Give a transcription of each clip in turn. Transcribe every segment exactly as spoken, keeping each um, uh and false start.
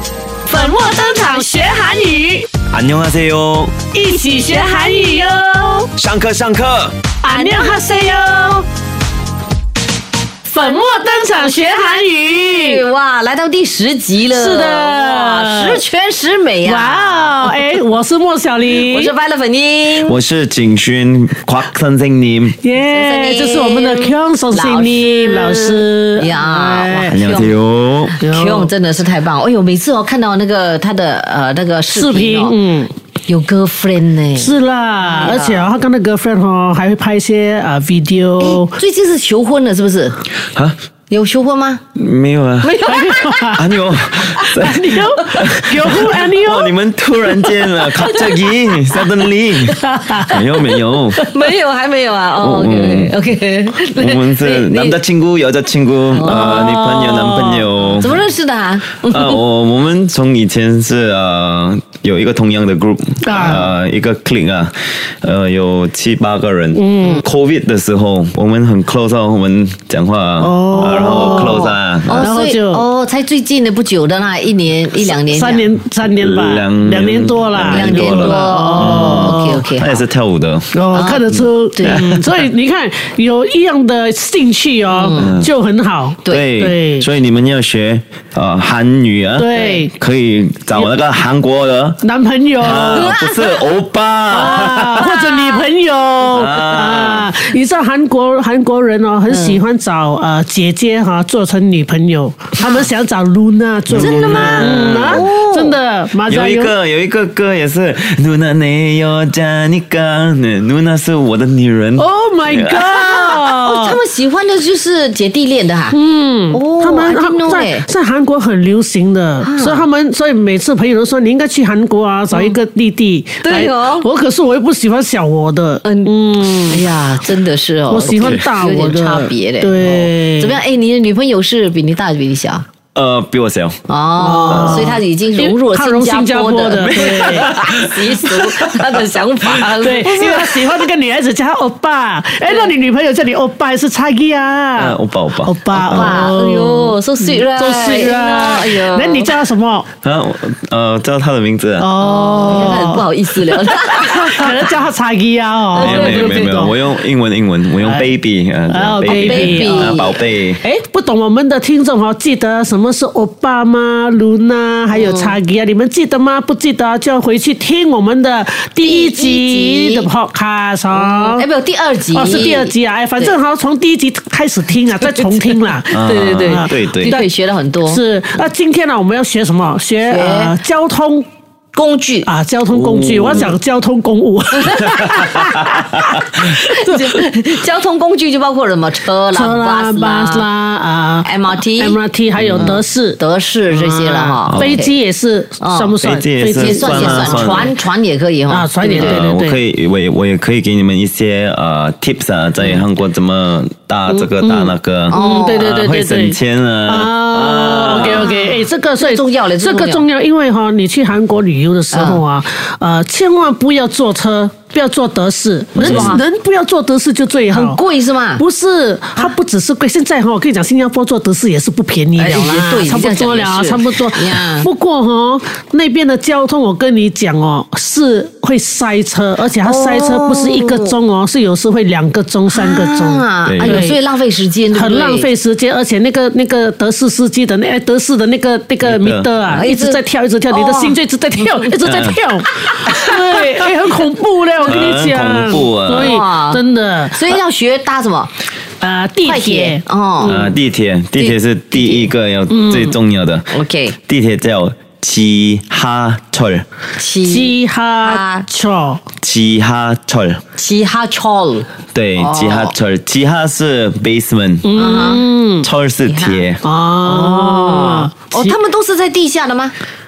粉墨登场学韩语， 안녕하세요， 一起学韩语哟！ 上课上课。 안녕하세요， 粉墨登场学韩语。 哇，来到第十集了， 是的， 哇，十全十美啊！ 哇哦，哎，我是莫小玲， 我是快乐粉英， 我是景勋곽 선생님， 耶，这是我们的 Kyung 선생님老师呀。 안녕하세요， Kyung 真的是太棒！哎呦，每次我看到那个他的呃那个视频哦，嗯，有 girlfriend 呢， 是啦，而且他跟那 girlfriend 哦还会拍一些啊 video。 最近是求婚了，是不是？ 啊？ 有求婚吗？ 没有啊， 没有啊， 아니요， 아니요， 有婚 아니요。 哦，你们突然间了，갑자기 suddenly， 没有没有， 没有还没有啊。哦 ，OK OK， 我们是남자친구 여자친구， 呃，女朋友男朋友。 怎么认识的啊？ 呃，我我们从以前是呃有一个同样的 group， 呃一个 clique 啊，呃有七八个人。嗯 ，COVID 的时候我们很 close 哦，我们讲话哦。 然后 close 啊， 哦，所以哦，才最近的不久的那一年一两年， 三年三年吧，两两年多了， 两年多哦 ，OK OK， 他也是跳舞的哦，看得出， 对， 所以你看有一样的兴趣哦，就很好， 对对，所以你们要学呃韩语啊， 对， 可以找那个韩国的男朋友， 不是欧巴或者女朋友啊，你知道韩国韩国人哦，很喜欢找呃姐姐。 哈，做成女朋友，他们想找 Luna 做。 真的吗？ 嗯啊，真的。 有一个有一个歌也是 Luna 내여자니까 Luna 是我的女人。 Oh my god！ 哦，他们喜欢的就是姐弟恋的哈。嗯，哦， 他们他们在在韩国很流行的，所以他们所以每次朋友都说你应该去韩国啊，找一个弟弟。 对哦， 我可是我又不喜欢小我的。嗯嗯，哎呀，真的是哦， 我喜欢大我的， 有点差别嘞。 对， 怎么样？哎，你的女朋友是比你大比你小？ 呃，比我小哦，所以他已经融入了新加坡的习俗，他的想法， 对，因为他喜欢那个女孩子叫他欧巴，哎，那你女朋友叫你欧巴还是差异啊？ 欧巴欧巴欧巴， 哎呦，so sweet 啦 ，so sweet 啦，哎呦，那你叫他什么？ 啊，呃，叫他的名字啊。 哦，他很不好意思了， 可能叫他差异啊，哦， 没有没有没有没有，我用英文英文，我用 baby 啊 ，baby 啊，宝贝。 哎，不懂我们的听众哦，记得什么？ 什么是欧巴吗？露娜还有查吉啊，你们记得吗？不记得就要回去听我们的第一集的 podcast 哦。 哎，没有第二集哦，是第二集啊。哎，反正好从第一集开始听啊，再重听啦。 对对对对对， 可以学了很多。 是，那今天呢，我们要学什么？学呃交通。 工具啊，交通工具，我要讲交通公务。 交通工具就包括什么车啦、 车啦、巴士啦啊 ，M R T、 M R T 还有德士、 德士这些了哈。 飞机也是算不算？ 飞机算也算，船船也可以哈。 啊，船也对对对。 我可以，我也我也可以给你们一些呃 tips 啊，在韩国怎么搭这个搭那个。 哦，对对对对对， 会省钱啊。 啊 ，OK OK， 哎，这个所以重要了， 这个重要，因为哈，你去韩国旅游的时候啊，呃，千万不要坐车。 不要坐德士，人人不要坐德士就最好。 很贵是吗？ 不是，它不只是贵，现在哈，我跟你讲，新加坡坐德士也是不便宜了啦， 对， 差不多了，差不多。不过哈，那边的交通我跟你讲哦，是会塞车，而且它塞车不是一个钟哦，是有时会两个钟、三个钟。 哎呦，所以浪费时间， 很浪费时间，而且那个那个德士司机的那德士的那个那个米德啊，一直在跳，一直跳，你的心就一直在跳，一直在跳，对，哎，很恐怖嘞。 我跟你讲， 很恐怖啊！ 所以真的， 所以要学搭什么？ 呃，地铁哦， 呃，地铁，地铁是第一个要最重要的。 OK， 地铁叫지하철， 지하철， 지하철， 지하철， 对， 지하철， 지하是 basement， 嗯，철是铁。 哦， 哦，他们都是在地下的吗？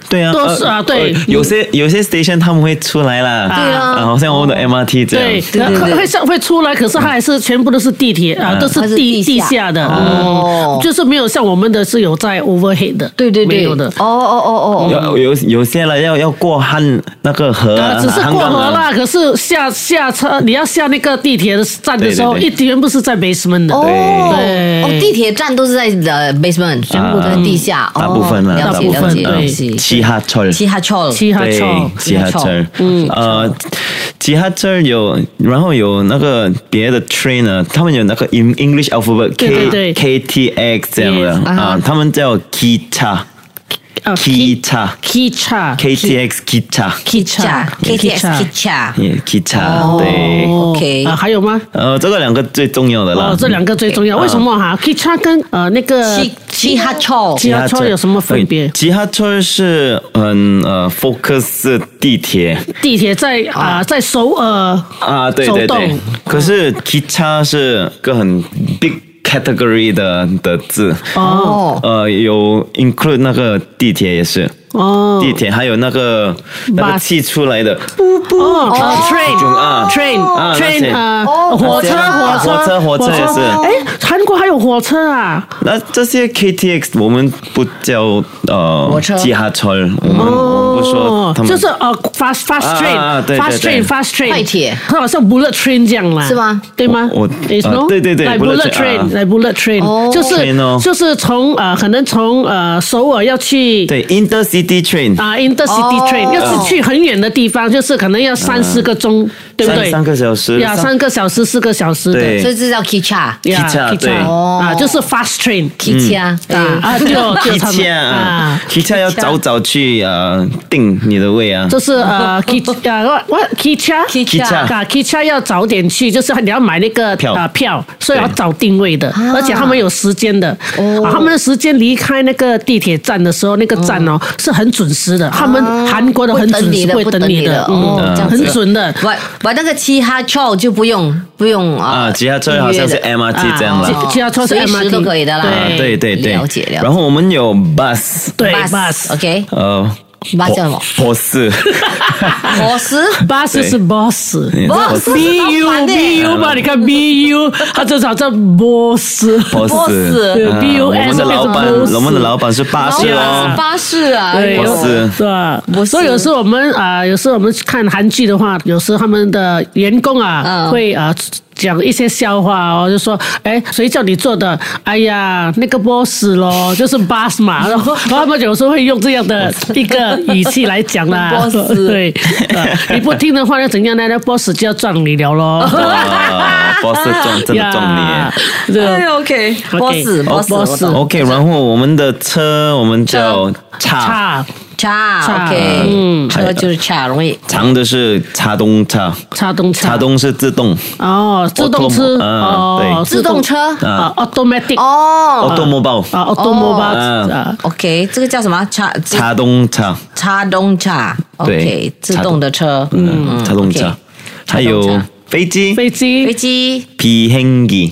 对啊， 都是啊，对， 有些有些 station 他们会出来啦， 对啊好像我们的 M R T 这样， 对， 对对对会上会出来，可是它还是全部都是地铁啊，都是它是地地下地下的， 哦嗯，就是没有像我们的是有在 overhead 的， 对对对， 没有的。 哦哦哦哦， 有有有些了要要过汉那个河啊， 啊，只是过河汉港啊啦，可是下下车，你要下那个地铁的站的时候， 对对对一全部是在 basement 的。 哦对哦，地铁站都是在呃 basement，全部都在地下， 大部分啦， 了大部分解了解了对解。 七哈村。 七哈철， 七哈对臭， 吉哈车，嗯，呃，吉哈车有，然后有那个别的 train 呢，他们有那个 in English alphabet 对对 K 对 K T X 这样的 Yes 啊，他们叫 Kita 啊 Kita Kita K T X Kita Kitcha K T X Kitcha， 也 Kita 对， OK 啊，还有吗？ 呃，这个两个最重要的啦哦，，这两个最重要。为什么哈？Kita 跟呃那个七七哈철， 吉哈车有什么分别？ 吉哈车是很呃 focus 地铁地铁在啊在首尔啊，对走对对动， 可是 Kita 是个很 big category 的的字， 哦呃，有 include 那个地铁也是， 哦地铁还有那个那个 Bus 气出来的， 哦呃啊 ，train train 啊那些 train 呃哦火车火火车火车也是哎，韩国还有火车啊？ 那这些 K T X 我们不叫呃火车吉哈车，我们我们不说他们就是呃 fast fast 啊 train 啊对对 fast 对 train fast train 快铁它好像 bullet train 这样啦， 是吗？ 对吗？ 我我 Is 啊 no？ 对对对来 bullet bullet train， train， 啊来 bullet train， 哦就是 train 哦就是从呃可能从呃首尔要去对 intercity train， 啊 intercity 哦 train，要是去很远的地方，就是可能要三四个钟，对不对？ 三三个小时， 呀，三个小时四个小时的。 对所以这叫 Kitcha 呀 Kitcha，对啊，就是 fast train Kitcha，对啊啊，就就他们 Kitcha 啊啊。 ，Kitcha 要早早去呃定你的位啊， 就是呃，K 啊，what what Kitcha Kitcha 啊，Kitcha 要早点去，就是你要买那个票啊票，所以要对早定位的，而且他们有时间的。啊，他们的时间离开那个地铁站的时候，那个站哦是很准时的，他们韩国的很准时，会会等你的等你的， 哦嗯这样子很准的。 我我那个七哈철就不用不用啊啊，吉哈车好像是 M R T 这样啊了。 吉哈车是随 M R T 时都可以的啦。 啊，对对对， 了解了解。 然后我们有 bus， 对 bus bus OK 呃 bus 叫什么博士， 火石 bus 是 boss。 嗯 boss B 好 U 烦欸 B U 嘛，你看 B U，它至少叫 boss。 博 boss 士，啊 B U 我 S 们的老板， 变成 boss 我们的老板是巴士然后哦是，巴士啊， 对，有博士是吧？ 博士所以有时候我们啊、有时候我们看韩剧的话，有时候他们的员工啊， 嗯会啊。讲一些笑话哦，就说，哎，谁叫你做的？哎呀，那个 boss 咯，就是 boss 嘛。然后，然后他们有时候会用这样的一个语气来讲啦。 boss 对、呃你不听的话，要怎样呢？那 boss 就要撞你了咯。 啊，博士撞真的撞呀你。 这哎，OK， OK， boss boss boss OK，然后我们的车我们叫叉， 叉叉 OK，嗯，车就是叉，容易长的是插动叉， 插动车， 插动是自动哦，自动车 Autom- 啊哦， 对自动车啊，automatic 哦 ，automobile， 啊，automobile 啊啊， ，OK，这个叫什么？叉插动叉， 插动叉对 ，OK，自动的车， 嗯，插动叉 OK， 还有插动叉飞机， 飞机飞机 비행기，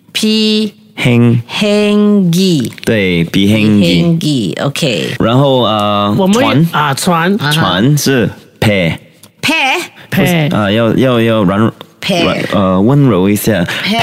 P 행， 행기 对，비행기， 행기 OK， 然后呃， 我们船， 啊船船是배， 배 配啊，要要要软 배 软呃温柔一下，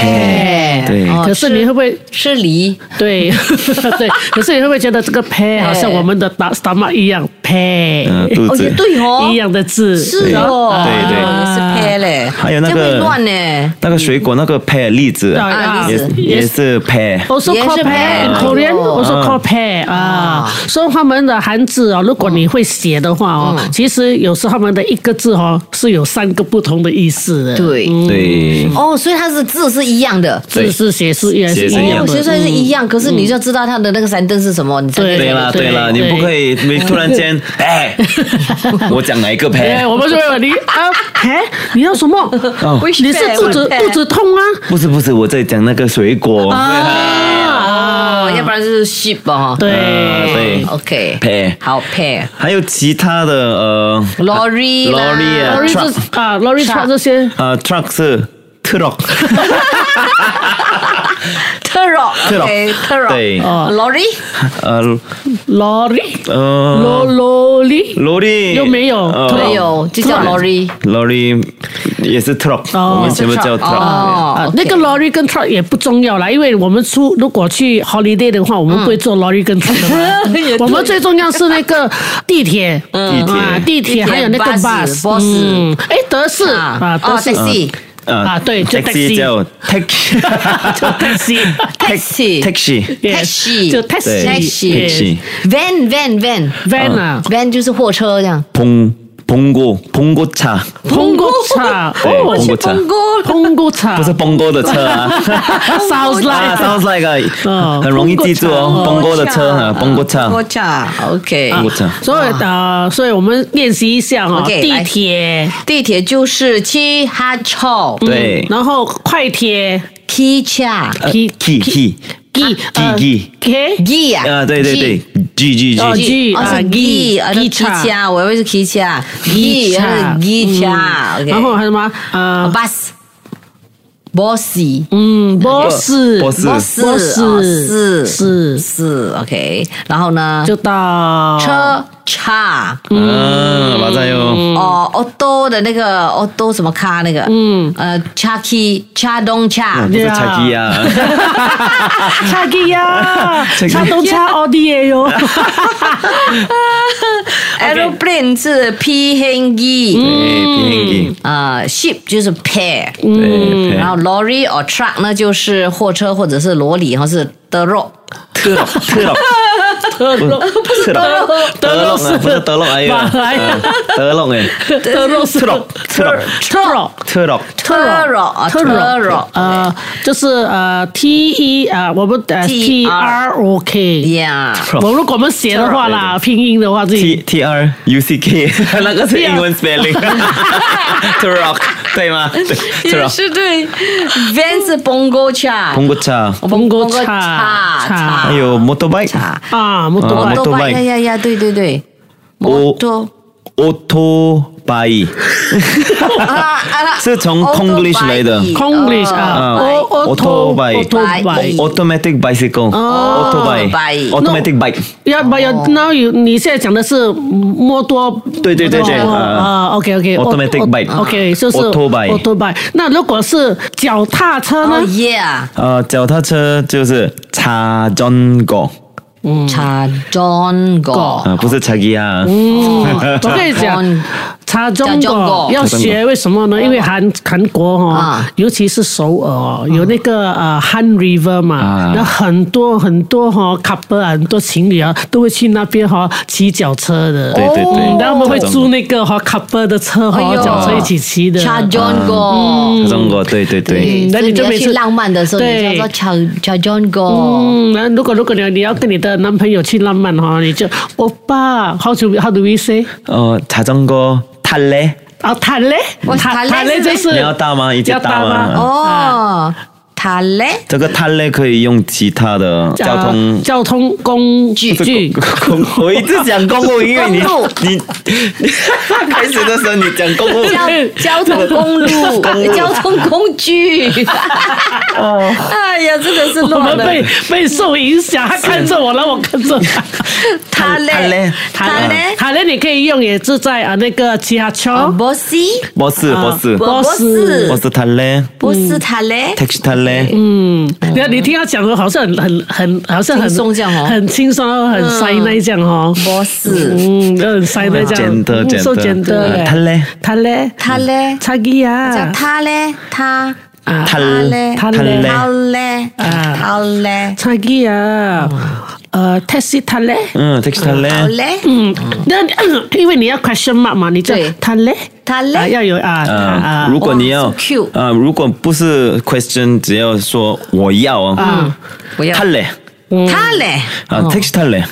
배 对哦可是你会不会是梨对对？可是你会不会觉得这个配好像我们的 stomach 一样配嗯，肚哦， 子也，对哦， 一样的字？ 是哦， 对对也是 배 嘞， 还有那个这样会乱呢， 那个水果那个 pear 栗子， 啊也栗子也是 pear， also 也是 called 配 pear in 哦 Korean also called pear 啊，所以他们的汉字哦，如果你会写的话哦，其实有时候他们的一个字哦是有三个不同的意思的。 对， 对， 哦，所以它是字是一样的。 字是写是也是一写是一样哦， 样的学。出来是一样，可是你就知道它的那个三灯是什么，你才对对啦对啦，你对不可以，你突然间，哎，我讲哪一个哎， pear？ 我们就会问你啊，哎，你要什么？ 哦你是肚子肚子痛啊？ 不是不是，我在讲那个水果哦，要不然就是 sheep 哦。 对啊对 ，OK， pear， 好 pear 还有其他的呃 lorry 啦 lorry 啊 lorry truck 是啊，lorry truck 这些呃 truck 是 truck， Turo Turo OK，Turo 对 ，Lorry 呃 lorry 呃 lo lorry lorry 又没有呃没有，就叫 Lorry。 lorry 也是 truck，我们全部叫 truck。 哦啊，那个 lorry 跟 truck 也不重要啦，因为我们出如果去 holiday 的话，我们不会坐 lorry 跟 truck 的嘛。 也对我们最重要是那个地铁， 地铁啊，地铁地铁还有那个 bus bus， bus 嗯，哎，德士啊，德哦士 ，taxi 啊，对，就 taxi taxi， 叫 taxi 就 taxi。 taxi taxi Yes， taxi 就 taxi taxi taxi van van van van 啊， van 就是货车这样。 봉 봉고 봉고차 澎湖茶， 对哦澎湖茶澎湖澎湖茶不是 bongo 的车啊。 ，sounds 啊 like ，sounds like 啊嗯很容易记住哦，bongo 的车啊，bongo 车火车 OK。 ，bongo 车。 所以呃，所以我们练习一下哈， OK， 地来铁， 地铁就是七哈车， 对然后快铁汽车呃 Key- key key G G K G 啊， 啊，对对对，G G 哦 G， G 哦啊是 G，啊机汽车，我以为是汽车，G 车是汽车，OK。 然后还有什么呃 bus bossy 嗯，boss boss boss ，boss 哦是是是 OK。然后呢， 就到车叉嗯，马仔哟， 哦，auto 的那个 auto 什么卡那个，嗯，呃，叉 key 叉东叉不是查基啊， 差机呀，差东差奥迪也有， ，aeroplane 是 P 型机， 对，平行啊，ship 就是 pair， 对， 然后 lorry or truck 呢就是货车或者是罗里，或是德肉。 特洛特洛德洛不是德洛德洛啊，不是德洛，哎呀， 马来嗯德洛哎， 德洛是特洛特洛特洛。 特洛， 特肉啊，特肉， 呃，就是呃 T E 啊，我们呃 T T R R O K， 呀， 我如果我们写的话啦，拼音的话自 T 己 T R U C K， 那个是英文 spelling， 特洛对吗？对，特也洛， 是对。van 是 bongo 叉， 澎湖车， 澎湖叉叉叉还有 motorbike， 叉， 啊，摩托啊拜 motorbike 呀呀呀，对对对，摩托 autobike 啊啊， 是从 Konglish 来的 Konglish 啊啊 ，auto autobike autobike。 automatic bicycle，autobike automatic bike， 要不要？那有你现在讲的是摩托？ 对对对对哦啊啊，OK OK automatic bike OK 就是 autobike autobike。那如果是脚踏车哦呢？ 耶， 呃，脚踏车就是차전거 叉 John 哥， 啊，不是차기啊， 我跟你讲，插中插中国国要学，为什么呢？因为韩韩国哈啊， 尤其是首尔哦，有那个呃 Han River 嘛啊， 那很多很多哈 couple 啊很多情侣啊都会去那边哈骑脚车的。 对对对嗯然后我们会租那个哈 couple 的车哈， 哎呦脚车一起骑的。 叉 John 哥。 차전거对对对， 对， 那你就每次所以你要去浪漫的时候，你对就要说叉叉 John 哥。 嗯，然后如果如果你要你要跟你的男朋友去浪漫哈，你就欧巴，how to how do we say？ 呃，자전거 탈래？ 啊，谈嘞， 我谈谈嘞谈嘞就是你要搭吗？一起要搭搭吗吗？ 哦，他嘞， 这个탈래可以用其他的交通呃交通工具不是公公我一直讲公共，因为你公路你你开始的时候你讲公共， 交交通公路，交通工具。 哦， 哎呀，真的是我乱了。 们被被受影响，他看着我，然后我看着他。 他嘞他嘞， 他嘞， 好嘞，你可以用，也是在啊那个骑下车。 bossy， 버스 버스 不 boss 是 버스 탈래？ 不是他嘞， 택시 탈래？ 嗯，你看你听他讲的，好像很很很，好像很轻松这样哦很轻松，很塞那这样哦。 不是嗯，很塞那这样， 简单简单嗯受简单嗯탈래？ 他嘞， 他嘞， 差기야 叫他嘞，他啊， 탈 嘞， 탈 他 래 嘞， 啊他嘞， 차기야呃，taxi 탈래？ 嗯，택시 탈래？ 好嘞， 嗯，那因为你要 question mark 嘛，你就对他嘞， 他啊， 嘞， 要有啊啊， 啊如果你要哦，so cute 啊，如果不是 question，只要说我要啊， 嗯，不要 탈래？ 他嘞， 啊，택시 탈래？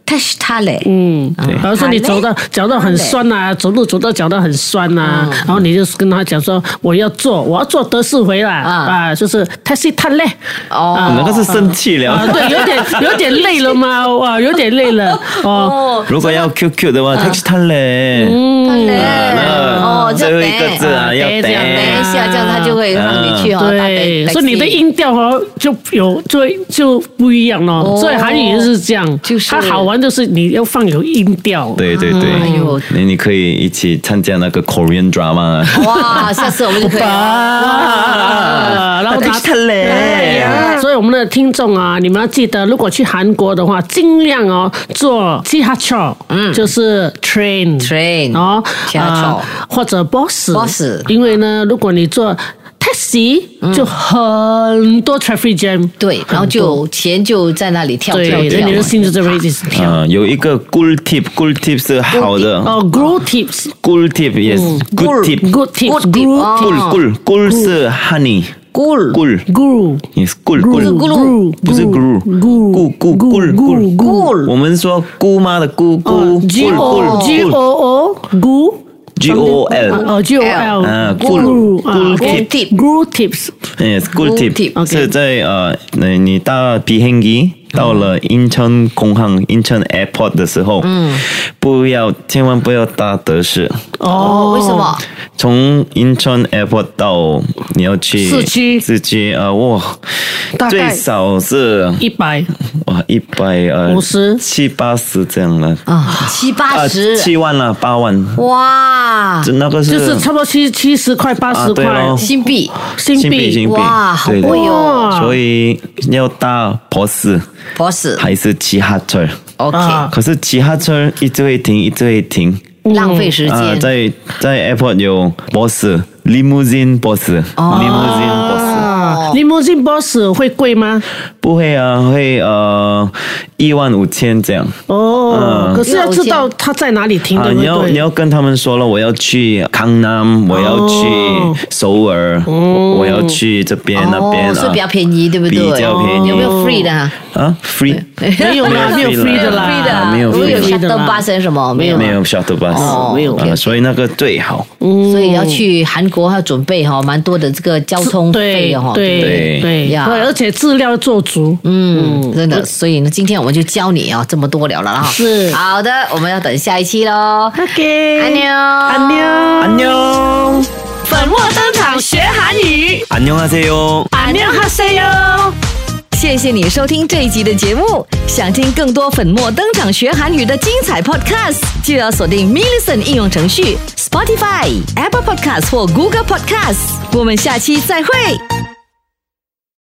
touch 它嘞， 嗯，比方说你走到脚到很酸啊，走路走到脚到很酸啊，然后你就跟他讲说我要做，我要做德式回来啊，就是 touch 它嘞。 哦， 那个是生气了。 啊，对，有点有点累了吗？哇，有点累了哦。 如果要 Q Q 的话 ，touch 它嘞。 嗯， 哦，最后一个字啊，要等一下，这样他就会让你去哦。 对，所以你的音调哦就有就就不一样咯。所以韩语就是这样，就是它好玩就是你要放有音调。 对对对，哎呦，你你可以一起参加那个 Korean drama。 哇，下次我们就可以。 哇，然后他嘞，所以我们的听众啊，你们要记得，如果去韩国的话，尽量哦坐지하철，嗯，就是 train train 哦， 지하철 或者 bus bus， 因为呢，如果你坐taxi就很多 traffic jam， 对，然后就钱就在那里跳跳跳， 你的心就在位置上跳。 啊，有一个 good tip，good tip 是好的哦 ，good tips，good tip yes，good tip，good tip，good good good 是 honey。 咕咕咕 ，yes，咕咕咕， 不是咕，咕咕咕咕咕， 我们说姑妈的姑姑 ，G O G O O 咕 ，G O L， 哦 G O L， 啊，咕咕 tip，good tips， yes，good tip，是在呃，你你搭비행기到了인천 공항 인천 airport 的时候，嗯，不要千万不要搭德式哦，为什么？ 从인천 airport 到你要去市区， 市区啊，哇，最少是一百， 哇，一百呃五十七八十这样了啊，七八十， 七万了，八万， 哇， 这那个是就是差不多七七十块八十块新币， 新币， 新币， 哇，好贵哦， 所以要搭bus。 bus 还是지하철 ，OK， 可是지하철一直会停，一直会停， 浪费时间。 啊，在在 airport 有 bus，limousine bus，limousine bus，limousine bus 会贵吗？ 不会啊，会呃一万五千这样。 哦，可是要知道它在哪里停的。 你要你要跟他们说了，我要去江南，我要去首尔，我要去这边那边， 所以比较便宜，对不对？ 比较便宜。 有没有 free 的啊？ 啊 ，free 没有啦，没有 free 的啦， 没有 free 的 shuttle bus 什么没有， 没有 shuttle bus， 没有啊，所以那个最好。 所以要去韩国要准备哈，蛮多的这个交通费的哈， 对对对呀，而且资料做足， 嗯，真的。所以呢，今天我们就教你啊这么多了了哈。 是好的，我们要等下一期喽。 OK， 安妞， 安妞， 安妞， 粉墨登场学韩语。 安妞하세요， 安妞하세요。 谢谢你收听这一集的节目。想听更多粉墨登场学韩语的精彩 podcast， 就要锁定 Millicent 应用程序、Spotify、Apple Podcast 或 Google Podcast。我们下期再会。